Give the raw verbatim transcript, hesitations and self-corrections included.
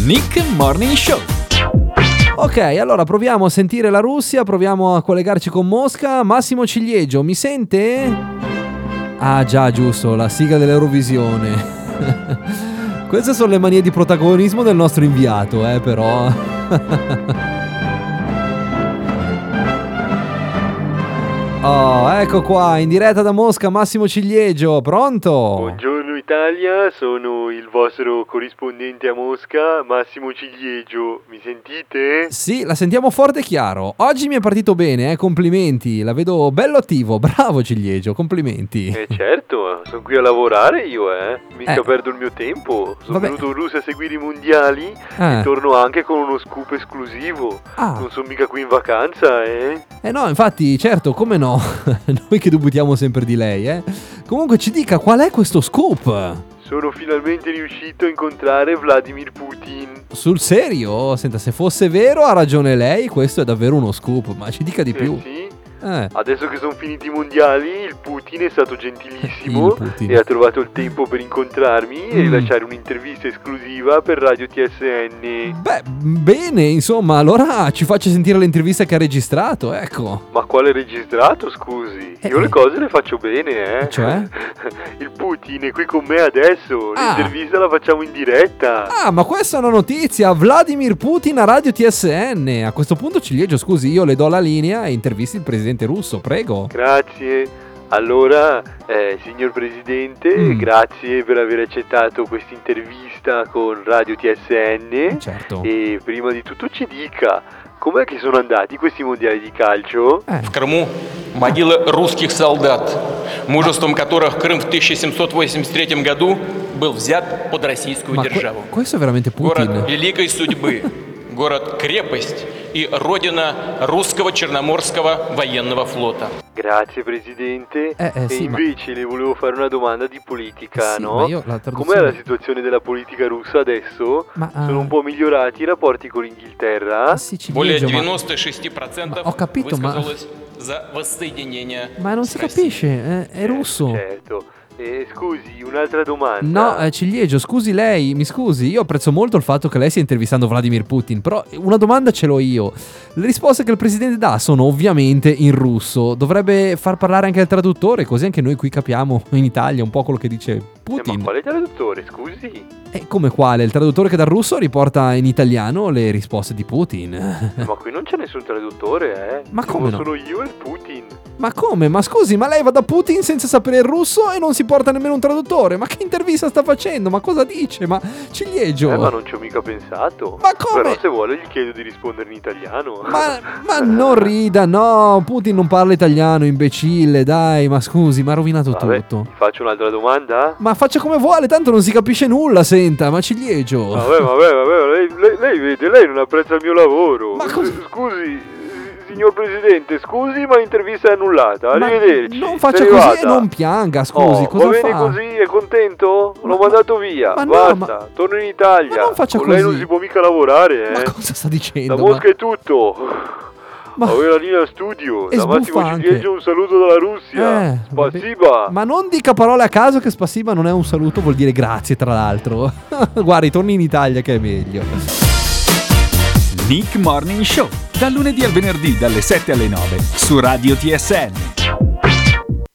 Nick Morning Show. Ok, allora proviamo a sentire la Russia, proviamo a collegarci con Mosca. Massimo Ciliegio, mi sente? Ah già, giusto, la sigla dell'Eurovisione. Queste sono le manie di protagonismo del nostro inviato, eh, però. Oh, ecco qua, in diretta da Mosca, Massimo Ciliegio, pronto? Buongiorno Italia, sono il vostro corrispondente a Mosca, Massimo Ciliegio, mi sentite? Sì, la sentiamo forte e chiaro. Oggi mi è partito bene, eh, complimenti, la vedo bello attivo, bravo Ciliegio, complimenti. Eh certo, sono qui a lavorare io, eh, mica Eh. perdo il mio tempo, sono Vabbè. venuto in Russia a seguire i mondiali Eh. e torno anche con uno scoop esclusivo, Ah. non sono mica qui in vacanza, eh? Eh no, infatti, certo, come no? Noi che dubitiamo sempre di lei, eh. Comunque ci dica qual è questo scoop? Sono finalmente riuscito a incontrare Vladimir Putin. Sul serio? Senta, se fosse vero ha ragione lei, questo è davvero uno scoop, ma ci dica di più. Eh sì? Eh. Adesso che sono finiti i mondiali, il Putin è stato gentilissimo Il Putin. e ha trovato il tempo per incontrarmi e Mm. rilasciare un'intervista esclusiva per Radio T S N. Beh, bene, insomma, allora ci faccia sentire l'intervista che ha registrato, ecco. Ma quale registrato, scusi? Eh, Io le eh. cose le faccio bene, eh? Cioè? Il Putin è qui con me adesso, Ah. l'intervista la facciamo in diretta. Ah, ma questa è una notizia, Vladimir Putin a Radio T S N. A questo punto Ciliegio, scusi, io le do la linea e intervisti il presidente russo, prego. Grazie. Allora, eh, signor Presidente, Mm. grazie per aver accettato questa intervista con Radio T S N. Certo. E prima di tutto ci dica, com'è che sono andati questi mondiali di calcio? Eh. В Крыму могилы русских солдат, мужеством которых Крым в тысяча семьсот восемьдесят третьем году был взят под российскую Ma que- державу. questo è veramente Город Putin? великой судьбы, город-крепость и родина русского Черноморского военного флота. Grazie Presidente. Eh, eh, e sì, ma- invece le volevo fare una domanda di politica, Sì, no? ma io la traduzione- Com'è la situazione della politica russa adesso? Ma, ah. Sono un po' migliorati i rapporti con l'Inghilterra? Ah, sì, Более Ciliegio, ma... девяносто шесть процентов Ma ho capito, ma- высказалось за воссоединение ma non с si Россией. capisce, eh, è russo. Certo. E scusi, un'altra domanda. No, eh, Ciliegio, scusi lei, mi scusi, io apprezzo molto il fatto che lei stia intervistando Vladimir Putin, però una domanda ce l'ho io. Le risposte che il presidente dà sono ovviamente in russo, dovrebbe far parlare anche il traduttore, così anche noi qui capiamo in Italia un po' quello che dice Eh, Putin. ma quale traduttore, scusi? E come quale? Il traduttore che dal russo riporta in italiano le risposte di Putin. Ma qui non c'è nessun traduttore, eh? Ma come Sono no? Sono io e il Putin. Ma come? Ma scusi, ma lei va da Putin senza sapere il russo e non si porta nemmeno un traduttore? Ma che intervista sta facendo? Ma cosa dice? Ma Ciliegio... Eh, ma non ci ho mica pensato. Ma come? Però se vuole gli chiedo di rispondere in italiano. Ma, ma non rida, no, Putin non parla italiano, imbecille, dai, ma scusi, mi ha rovinato Vabbè, tutto. ti faccio un'altra domanda? Ma faccia come vuole, tanto non si capisce nulla, senta, ma Ciliegio. Vabbè, vabbè, vabbè, lei, lei, lei vede, lei non apprezza il mio lavoro. Ma cosa- Scusi, signor Presidente, scusi, ma l'intervista è annullata. Ma Arrivederci. non faccia sei così arrivata? e non pianga, scusi, Oh, cosa va bene fa? così, è contento? Ma- L'ho mandato via, ma no, basta, ma- torno in Italia. ma non faccia Con lei non così. si può mica lavorare, eh. Ma cosa sta dicendo? Da Ma- Mosca è tutto. Ma- Avevo la linea studio. E Da Massimo sbuffa anche. Ciliegio un saluto dalla Russia. Eh, vabbè. Spasiba. Ma non dica parole a caso che spassiba non è un saluto, vuol dire grazie tra l'altro. Guardi, torni in Italia che è meglio. Nick Morning Show, dal lunedì al venerdì dalle sette alle nove su Radio T S N.